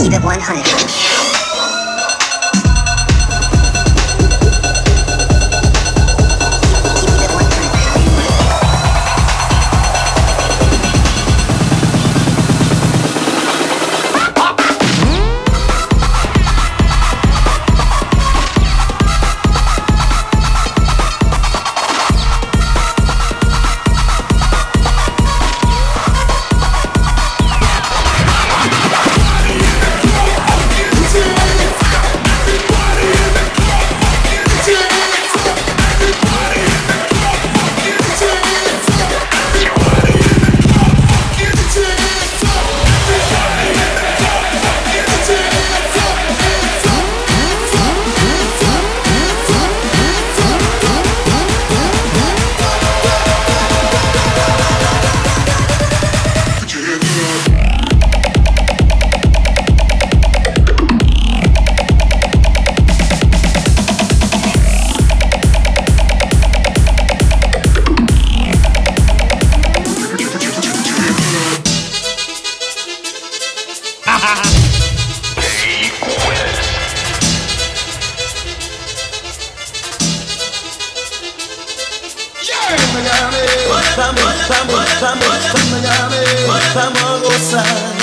Keep it 100. Vamos a gozar.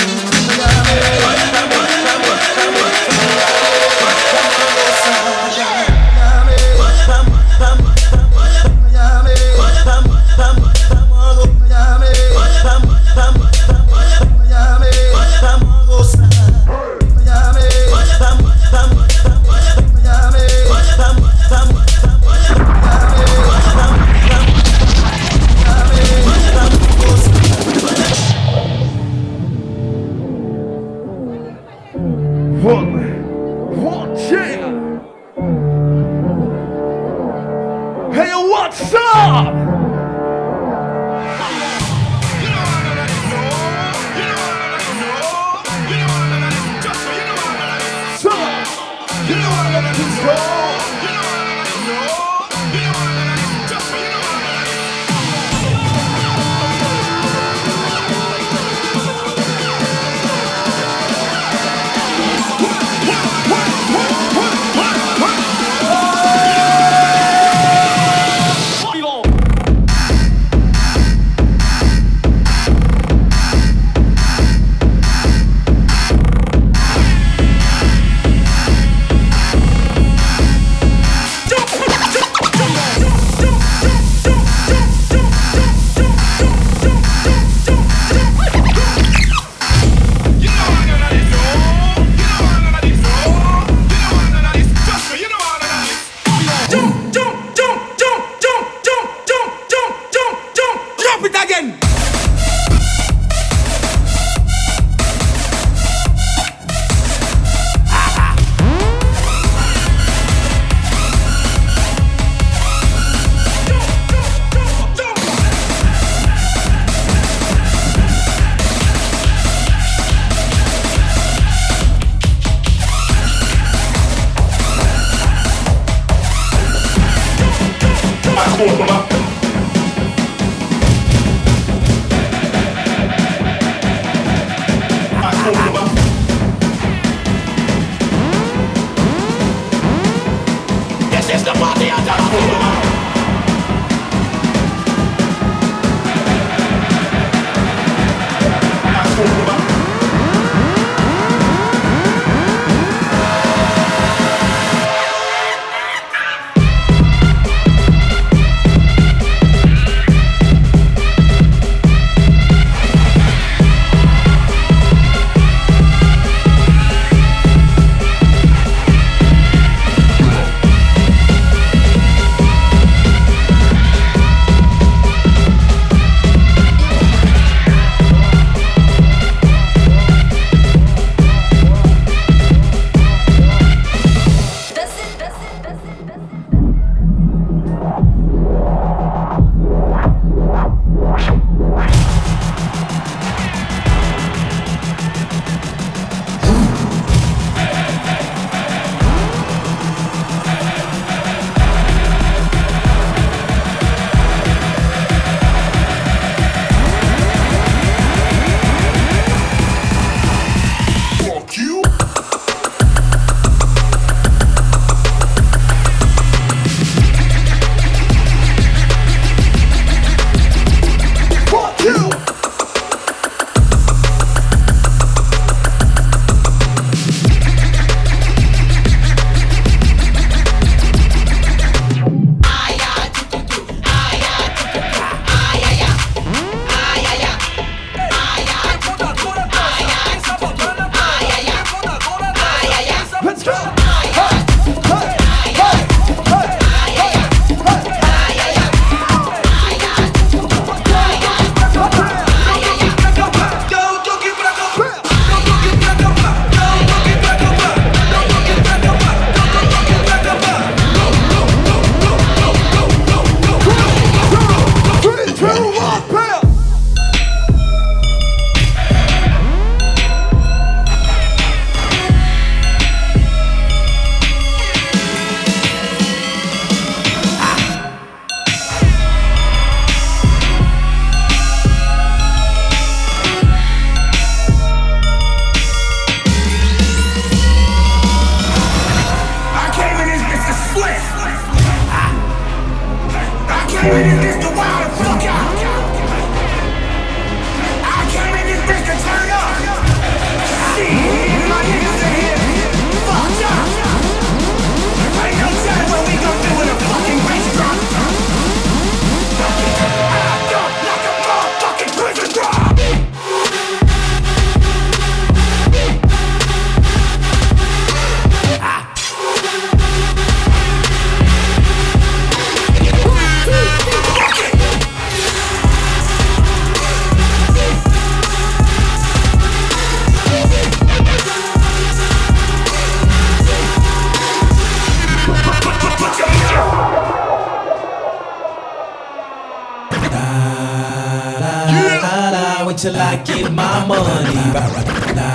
Wait till I get my money right.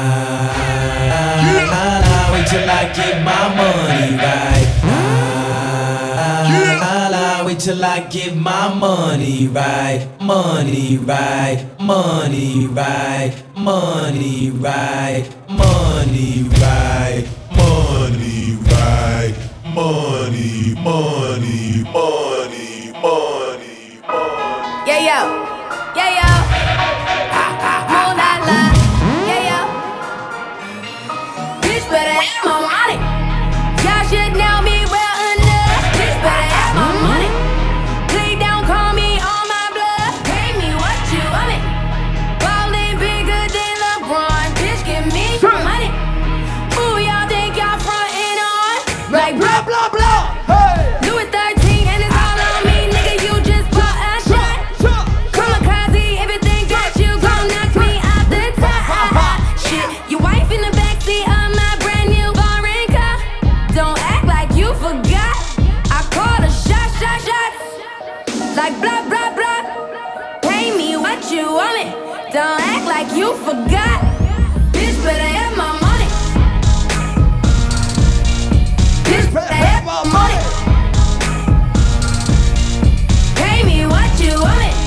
Wait till I get my money right. Wait till I get my money right. Money right. Money right. Money right. Money right. Money right. Money, money, money, money, money. Yeah, yo. Yeah, yo. More la la. Yeah, yo. Bitch better have my money. Y'all should know me well enough. Bitch better have my money. Please don't call me on my blood. Pay me what you want it. Ballin' bigger than LeBron. Bitch, give me some money. Who y'all think y'all frontin' on? Like blah, blah, blah. Louis 13 and it's all on me, nigga. You just bought a shot. Kamikaze, everything that you gon' knock me out the top. Shit, your wife in the backseat of my brand new foreign car. Don't act like you forgot. I called a shot. Like blah, blah, blah. Pay me what you want it. Don't act like you forgot. Bitch, better have my money. Bitch, better have my money. Pay me what you want it.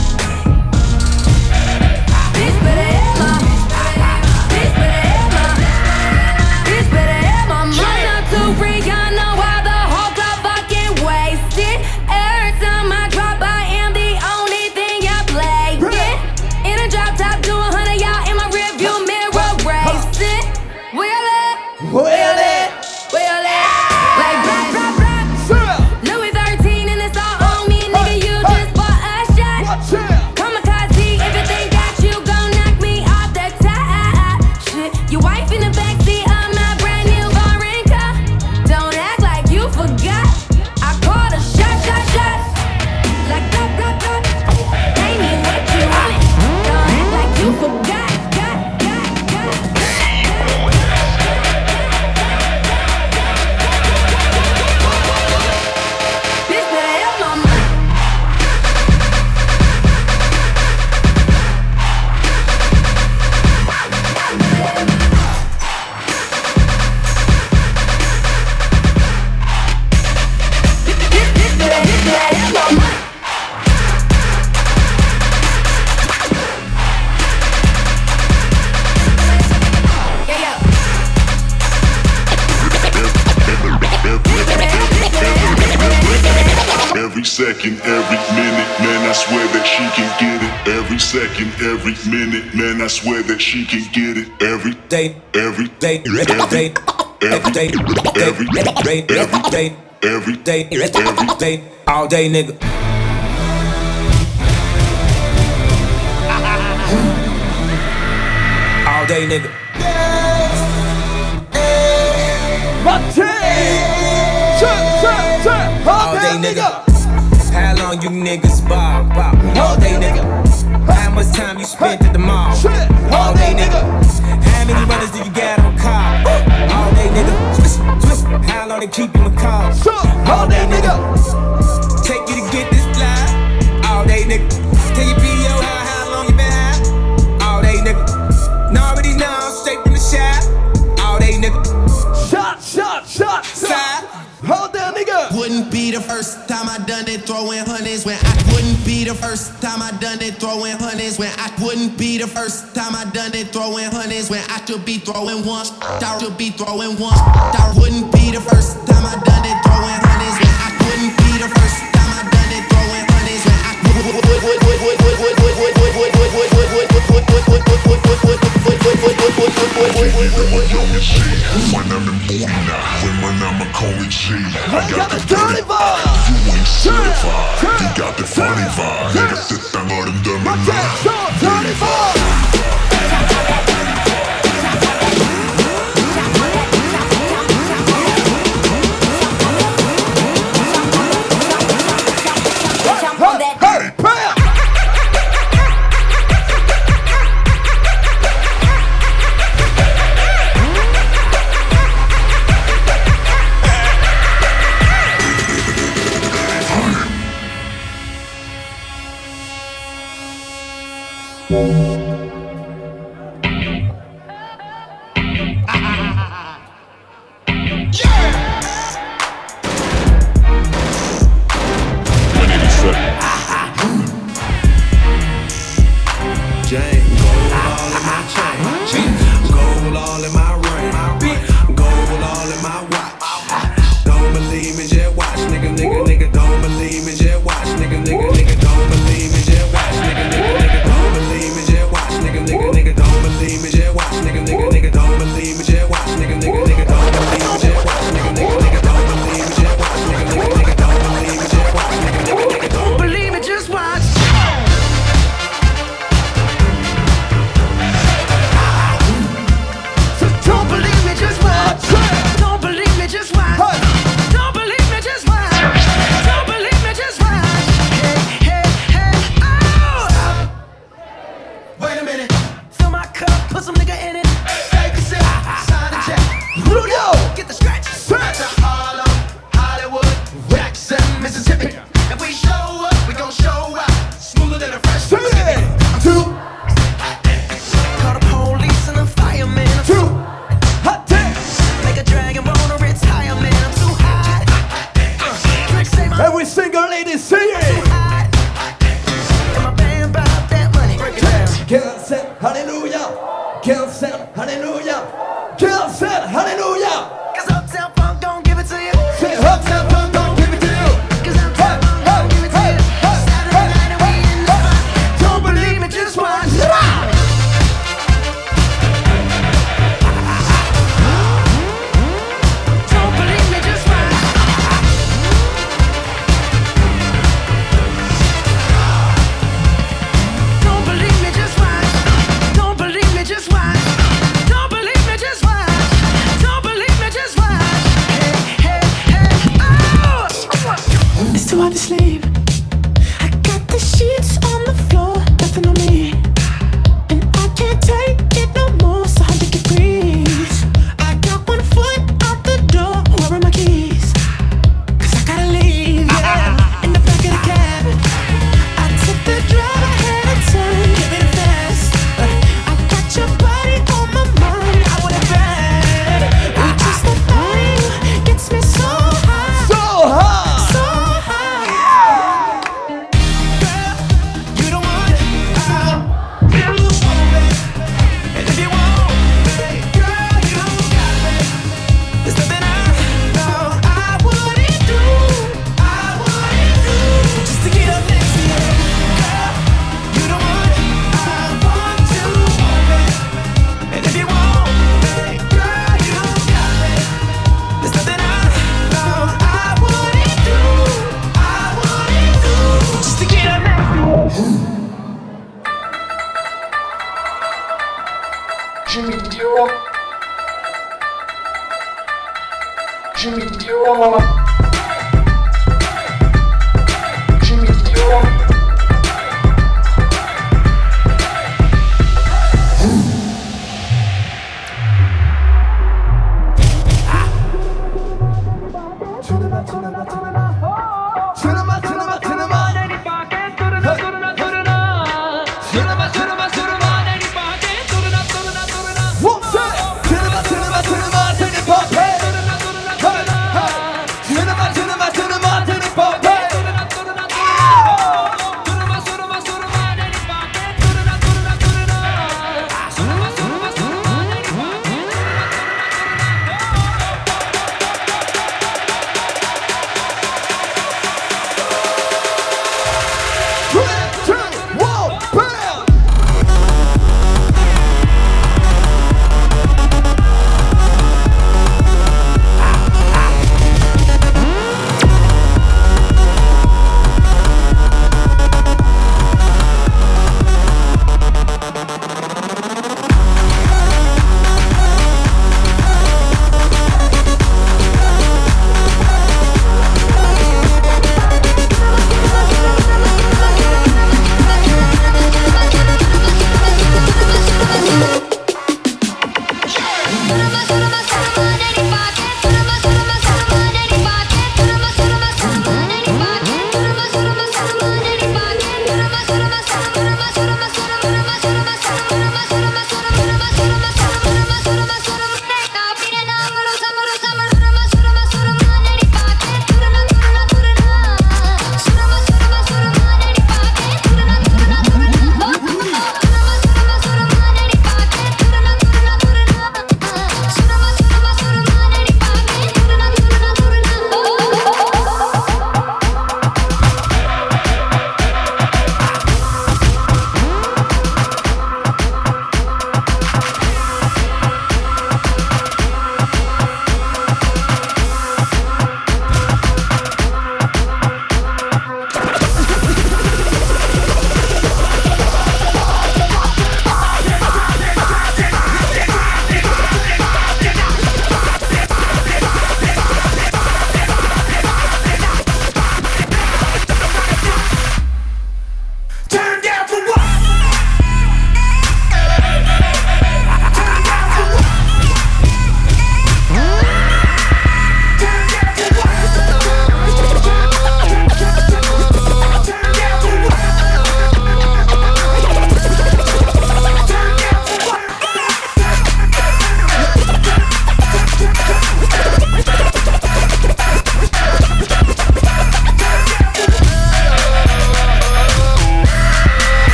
Bitch, better have my. Bitch, better have my. Bitch, better have my money. Try not to freak, I know how the whole club fucking wasted. Every time I drop, I am the only thing y'all play. In a drop top, do 100, y'all in my rearview mirror racing. Wheel it. Like blah, blah, blah. Louis 13 and it's all on me, nigga. You just bought a shot. Kamikaze, everything that you gon' knock me off the top. Shit, your wife in the backseat of my brand new foreign car. Don't act like you forgot. I called a shot. Like blah, blah, blah. Pay me what you want it. Don't act like you forgot. Bitch, better have my money. Bitch, better have my money. Yeah, yeah. Every second, every minute, man, I swear that she can get it. Every second, every minute, man, I swear that she can get it. Every day, every day, every day, every day, every day, every day, every day, All day, nigga. All day, nigga. All day, nigga. How long you niggas ball? All day, nigga. How much time you spent at the mall? All day, nigga. How many runners do you got on call? All day, nigga. Twist. How long they keep you in call? All day, nigga. Take you to get this fly. All day, nigga. Tell your PO how long you been high? All day, nigga. And already know, straight from the shop. All day, nigga. Shot. Side. Hold down, nigga. Wouldn't be the first time I done it, throwing hundreds when I wouldn't be the first time I done it, throwing hundreds when I wouldn't be the first time I done it, throwing hundreds when I should be throwing ones. I should be throwing ones. I wouldn't be the first time I done it, throwing hundreds when I wouldn't be the first time I done it, throwing hundreds. When I'm in Boona, when I'm a Coney G, I got the dirty vibe. You ain't certified, you got the funny vibe. 내가 뜻한 어른들만 dirty vibe.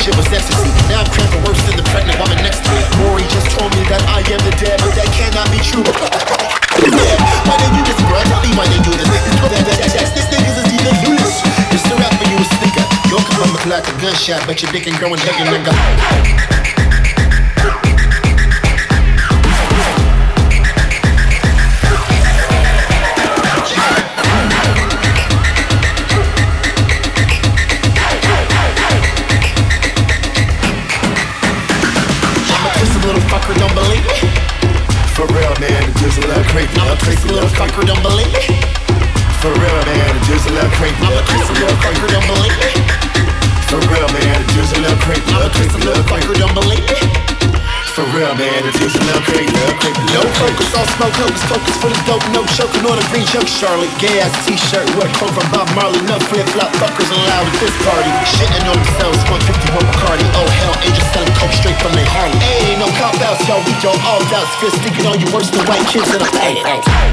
shit was ecstasy. Now I'm cramping worse than the pregnant woman next to me. Maury just told me that I am the dead, but that cannot be true. Yeah, why they do this, bro? Tell me why they do this. This niggas is even loose. It's the rap when you a sneaker. You'll come up like a gunshot, but your dick ain't growing bigger, nigga. Fucker don't believe me. For real, man, it just a little creepy. I'm a crazy little fucker, don't believe me. For real, man, it just a little creepy. I'm a crazy little fucker, don't believe me. For real, man, it just a little creepy. I'm a crazy little fucker, don't believe me. For real, man, it just a little creepy. No focus, all smoke, focus for the dope, no choking on a green choke. Charlotte, gay ass t-shirt, what quote from Bob Marley. No flip-flop fuckers allowed at this party. Shitting on themselves, 151 Bacardi. Oh hell, angels selling coke straight from their Harley. Hey, no cop outs, y'all, we don't all doubts. Fist sticking on you worse than white kids in a paint.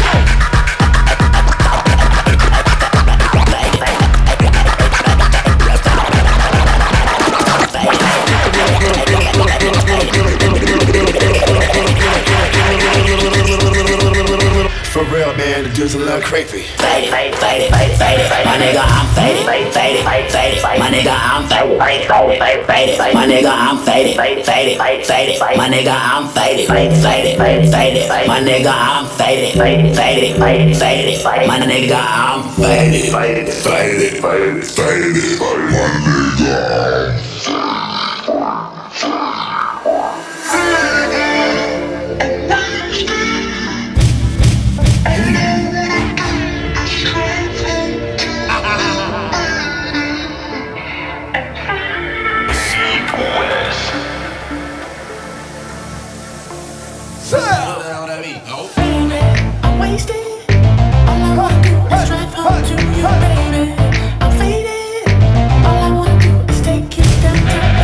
For real, man, the dude's a little creepy. Faded. My nigga, I'm faded. My nigga, I'm faded. My nigga, I'm faded. My nigga, I'm faded. My nigga, I'm faded. My nigga, I'm I'm wasted. All I wanna do is drive home to you, baby. I'm faded. All I wanna do is take you down to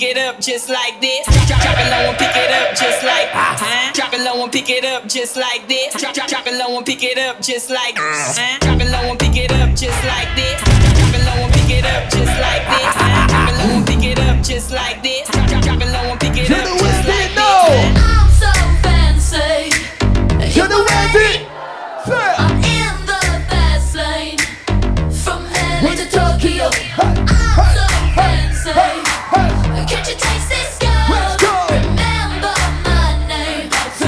pick it up just like this. Drop it low and pick it up just like. Drop it low and pick it up just like this. Drop it low and pick it up just like. Drop it low and pick it up just like this. Drop it low and pick it up just like this. Drop it low and pick it up just like this. Drop it low and pick it up just like this. I'm so fancy. You know what it? I'm in the fast lane. From LA to Tokyo. I'm so fancy. Can't you taste this girl? Remember my name.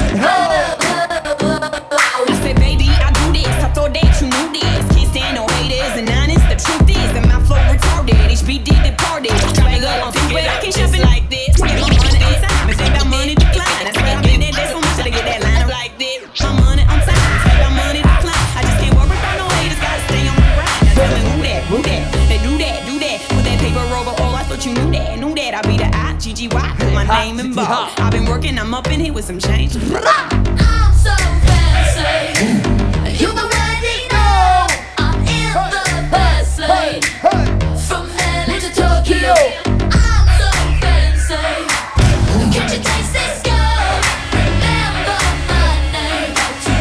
I said, baby, I do this. I thought that you knew this. Can't stand no haters and honest. The truth is that my flow retarded. HBD departed. Swag up, I'm but I can't shop it like this. Get my money on time. If they got money decline. That's why I'm in that day so much to get that line up like this. My money on time. If they got money decline. I just can't worry about no haters. Gotta stay on the grind. Now tell me who that? They do that. With that paper over all. I thought you knew that. I be the I-G-G-Y. Put my name in bold. I've been working. I'm up in here with some change. I'm so fancy. You already know. I'm in the fast lane. From LA to Tokyo. I'm so fancy. Can't you taste this girl? Remember my name.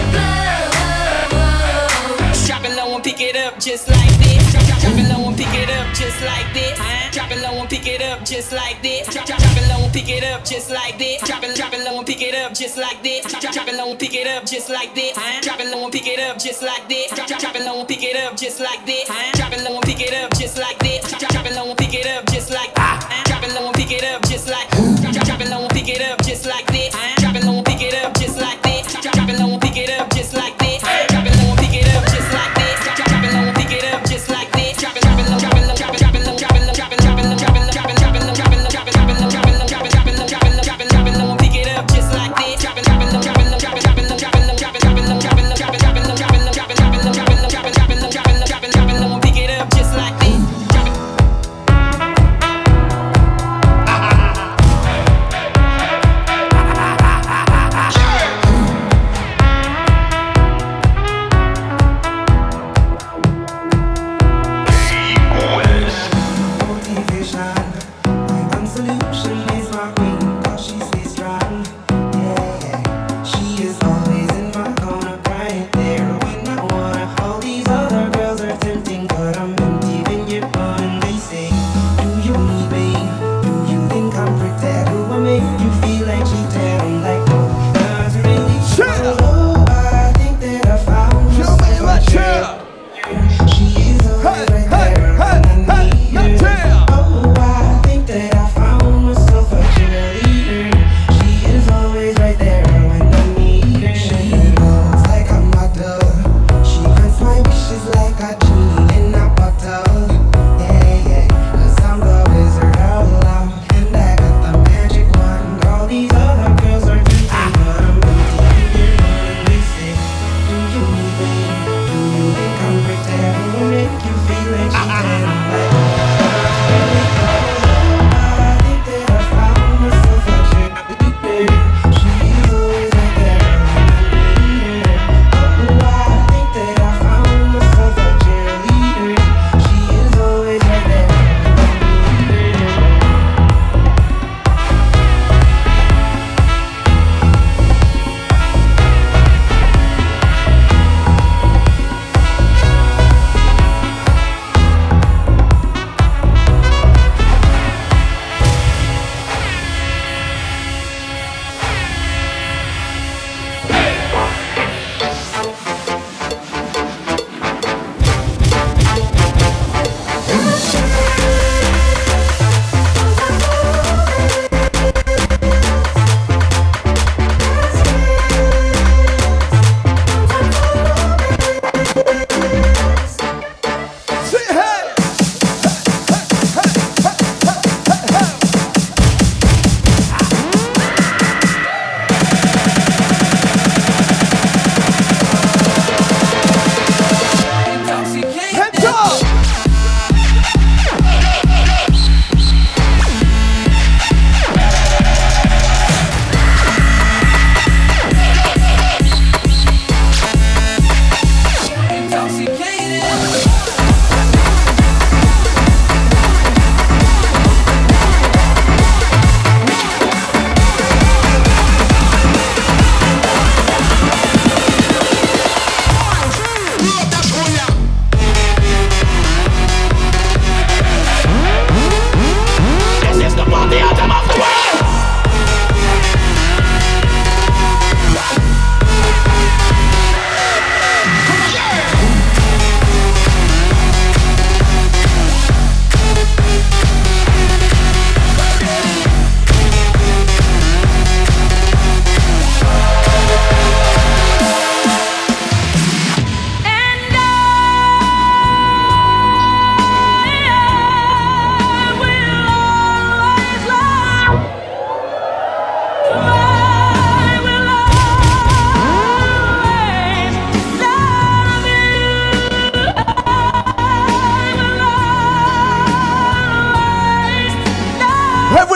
Drop it low and pick it up just like this. Drop it low and pick it up just like this. Drop it low and pick it up just like this. Drop it low and pick it up just like this. Drop it low and pick it up just like this. Drop it low and pick it up just like this. Drop it low and pick it up just like this. Drop it low and pick it up just like this. Drop it low and pick it up just like this. Drop it low and pick it up just like. Drop it low and pick it up just like. Drop it low and pick it up just like this. Drop it low and pick it up just like this. Drop it low and pick it up just like this. Drop it low and pick it up just like this. Drop it low and pick it up just like this. Drop it low, drop it low, drop it low, drop it low, drop it low, drop it low, drop it low, drop it low, drop it low, drop it low, drop it low, drop it low, drop it low, drop it low, drop it low, drop it low, drop it low, and pick it up just like this. Drop it, drop it low, drop it low, drop it, drop it low, drop it low, drop it, drop it low, drop it low, drop it, drop it low, drop it low, drop it, drop it low, drop it low, drop it low, drop it low, drop it low, drop it low, drop it low, and pick it up just like this.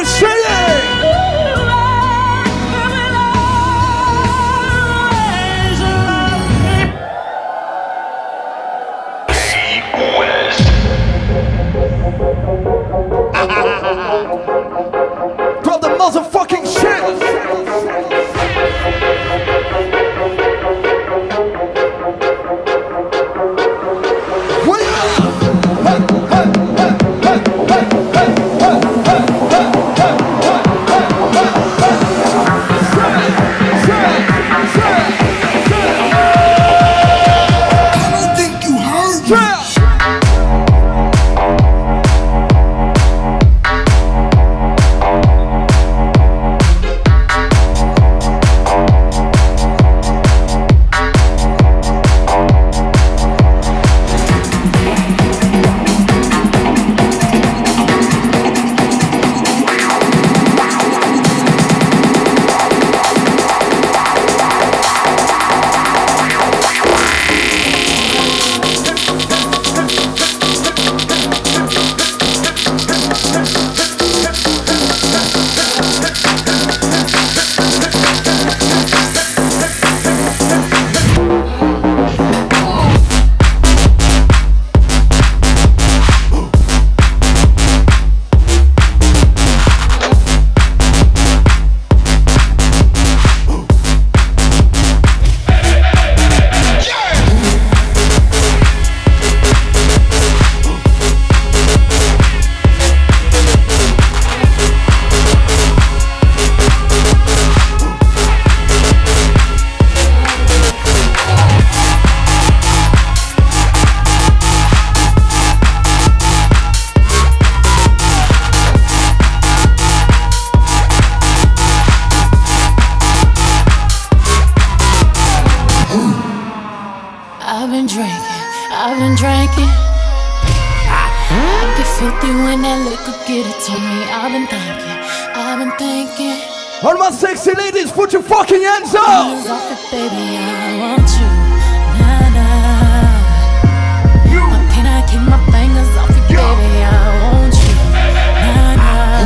Drop the motherfucking shit. I've been drinking. I get filthy when that liquor get it to me. I've been thinking. All my sexy ladies, put your fucking hands up. Hands off it, baby, I want you. Nah, nah. Why can't I keep my fingers off it, baby, I want you. Nah,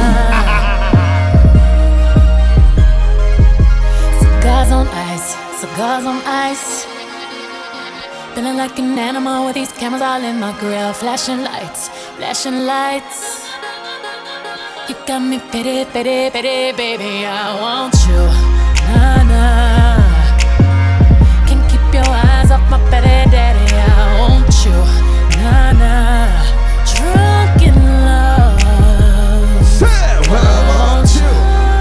nah. Cigars on ice, cigars on ice. Feeling like an animal with these cameras all in my grill. Flashing lights, flashing lights. You got me pity, pity, pity, baby, I want you. Nah, nah. Can't keep your eyes off my petty daddy, I want you. Nah, nah. Drunk in love. Say what I want you.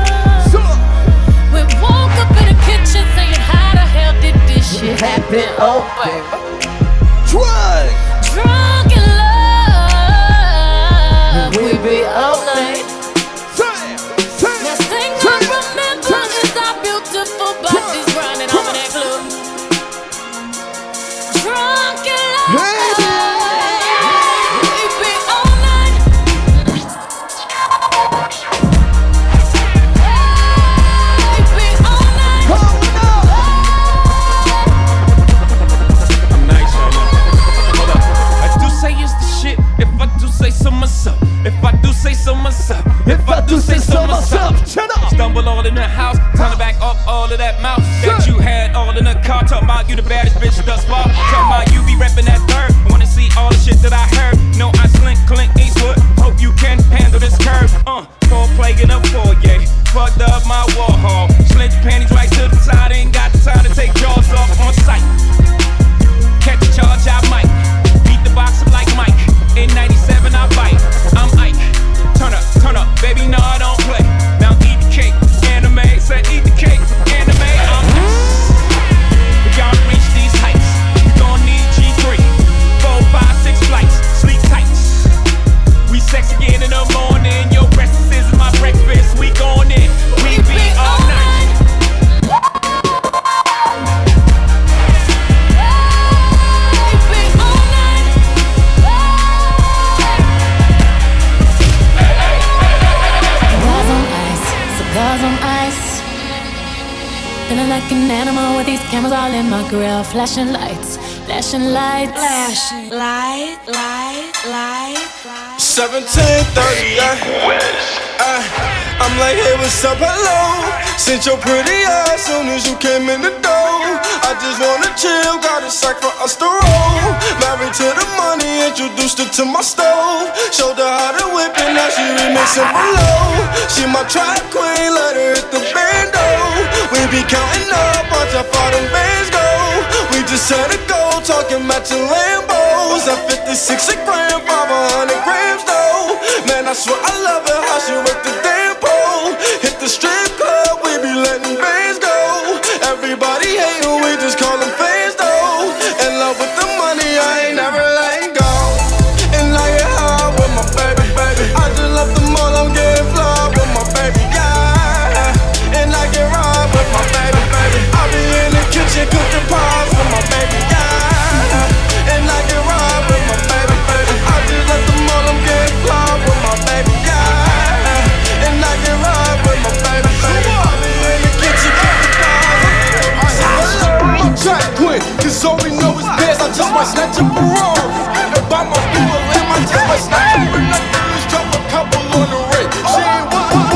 We woke up in the kitchen saying how the hell did this shit happen? Oh, baby. Drunk in love. We be up late. Last thing I remember is our beautiful bodies running over that club. Drunk in love. We be all night. We be all night. I'm nice right now. Hold up. I do say it's the shit. If I do say so myself. If I do say so myself. If I do say so myself. Shut up. Stumble all in the house. Time to back up all of that mouth that you had all in the car. Talking about you the baddest bitch thus far. Talking about you be reppin' that third. Wanna see all the shit that I heard. No, I slink Clint Eastwood. Hope you can handle this curve. Full plague in a foyer. Fucked up my wall hall. Slint your panties right to the side. Ain't got the time to take jaws off on sight. Catch a charge, I might. Beat the box up like Mike. In 97, I bite. I'm Ike. Turn up, baby, no, I don't play. Now eat the cake, anime. Said eat the cake, anime. I'm nice. We gotta reach these heights. You gon' need G3. 4, 5, 6 flights. Sleep tight. We sex again in the morning. Your breakfast is my breakfast. We going in. We be all night. Cigars on ice. Feeling like an animal with these cameras all in my grill. Flashing lights, flashing lights. Flashing light, light, light, light. 1730, I'm like, hey, what's up, hello? Sent your pretty ass soon as you came in the door. I just wanna chill, got a sack for us to roll. Married to the money, introduced her to my stove. Showed her how to whip it, now she remixing for low. She my track queen, let her hit the bando. We be counting up, watch how far them bands go. We just set a goal, talking matching Lambos. At 56 a gram, 500 grams though. Man, I swear I love her, how she work the damn pole. Hit the strip club, we be letting bands go. Everybody hate her, we just call them fans though. In love with the money, I ain't never letting go. And I get high with my baby, baby. I just left the mall, I'm getting fly with my baby, yeah. And I get ride with my baby, baby. I be in the kitchen cooking pies with my baby, yeah. And I get ride with my baby, baby. I just left the mall, I'm getting fly with my baby, yeah. And I get ride with my baby, baby. I be in the kitchen cooking pies. I'm track queen, cause all we know is best. I just might snatch a Ferrari and buy my boo a limb. I just might snatch a Bernardo's, drop a couple on the ring. She ain't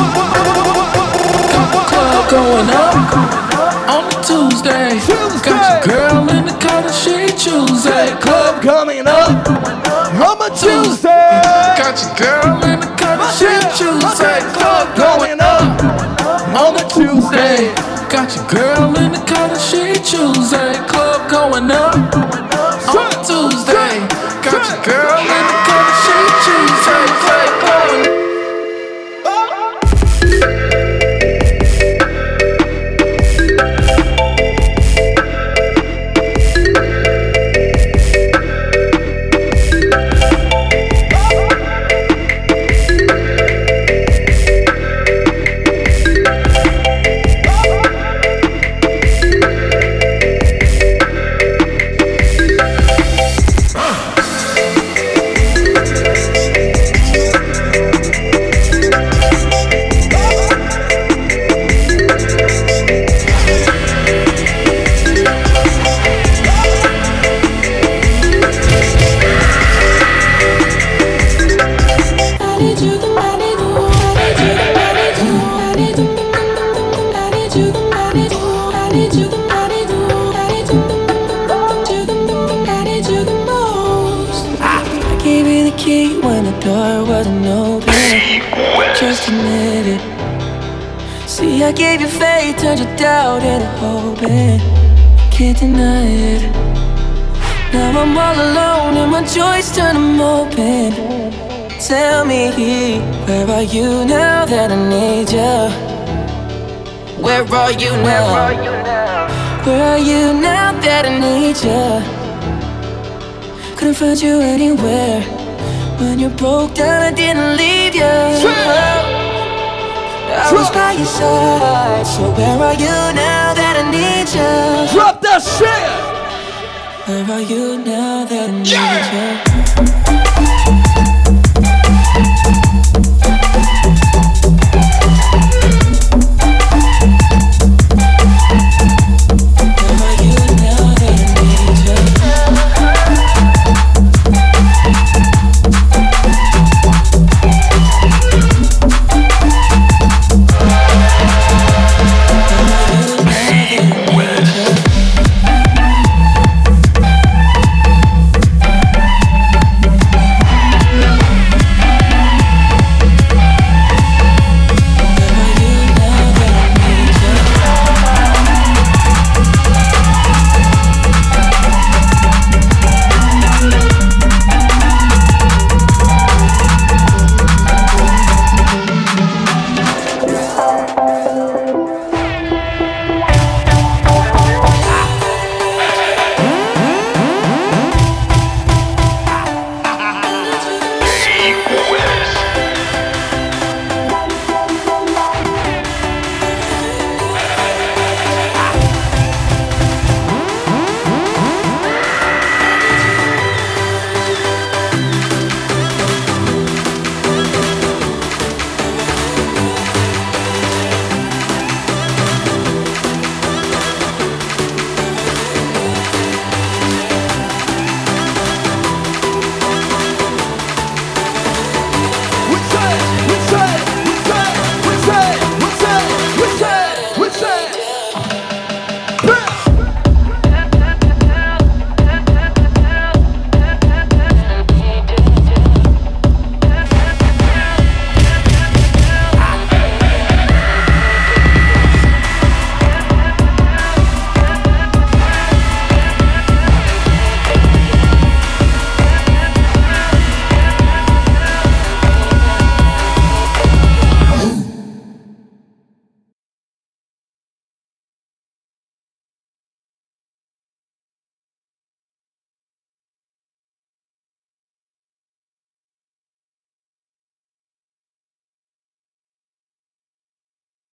Club going up on a Tuesday. Got your girl in the car that she choosing. Club coming up on a Tuesday. Got your girl in the car that she choosing. Club going up on a Tuesday. Got your girl in the car that she choosing. Club going up on a Tuesday. Got your girl in the car that she choosing. Club going up. I gave you faith, turned your doubt into hope, and can't deny it. Now I'm all alone and my joys turn them open. Tell me, where are you now that I need you? Where are you now? Where are you now that I need you? Couldn't find you anywhere. When you broke down, I didn't leave you. I was by your side, so where are you now that I need you? Drop that shit! Where are you now that I need you?